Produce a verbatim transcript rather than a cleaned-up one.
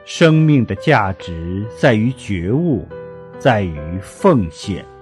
生命的价值在于觉悟，在于奉献。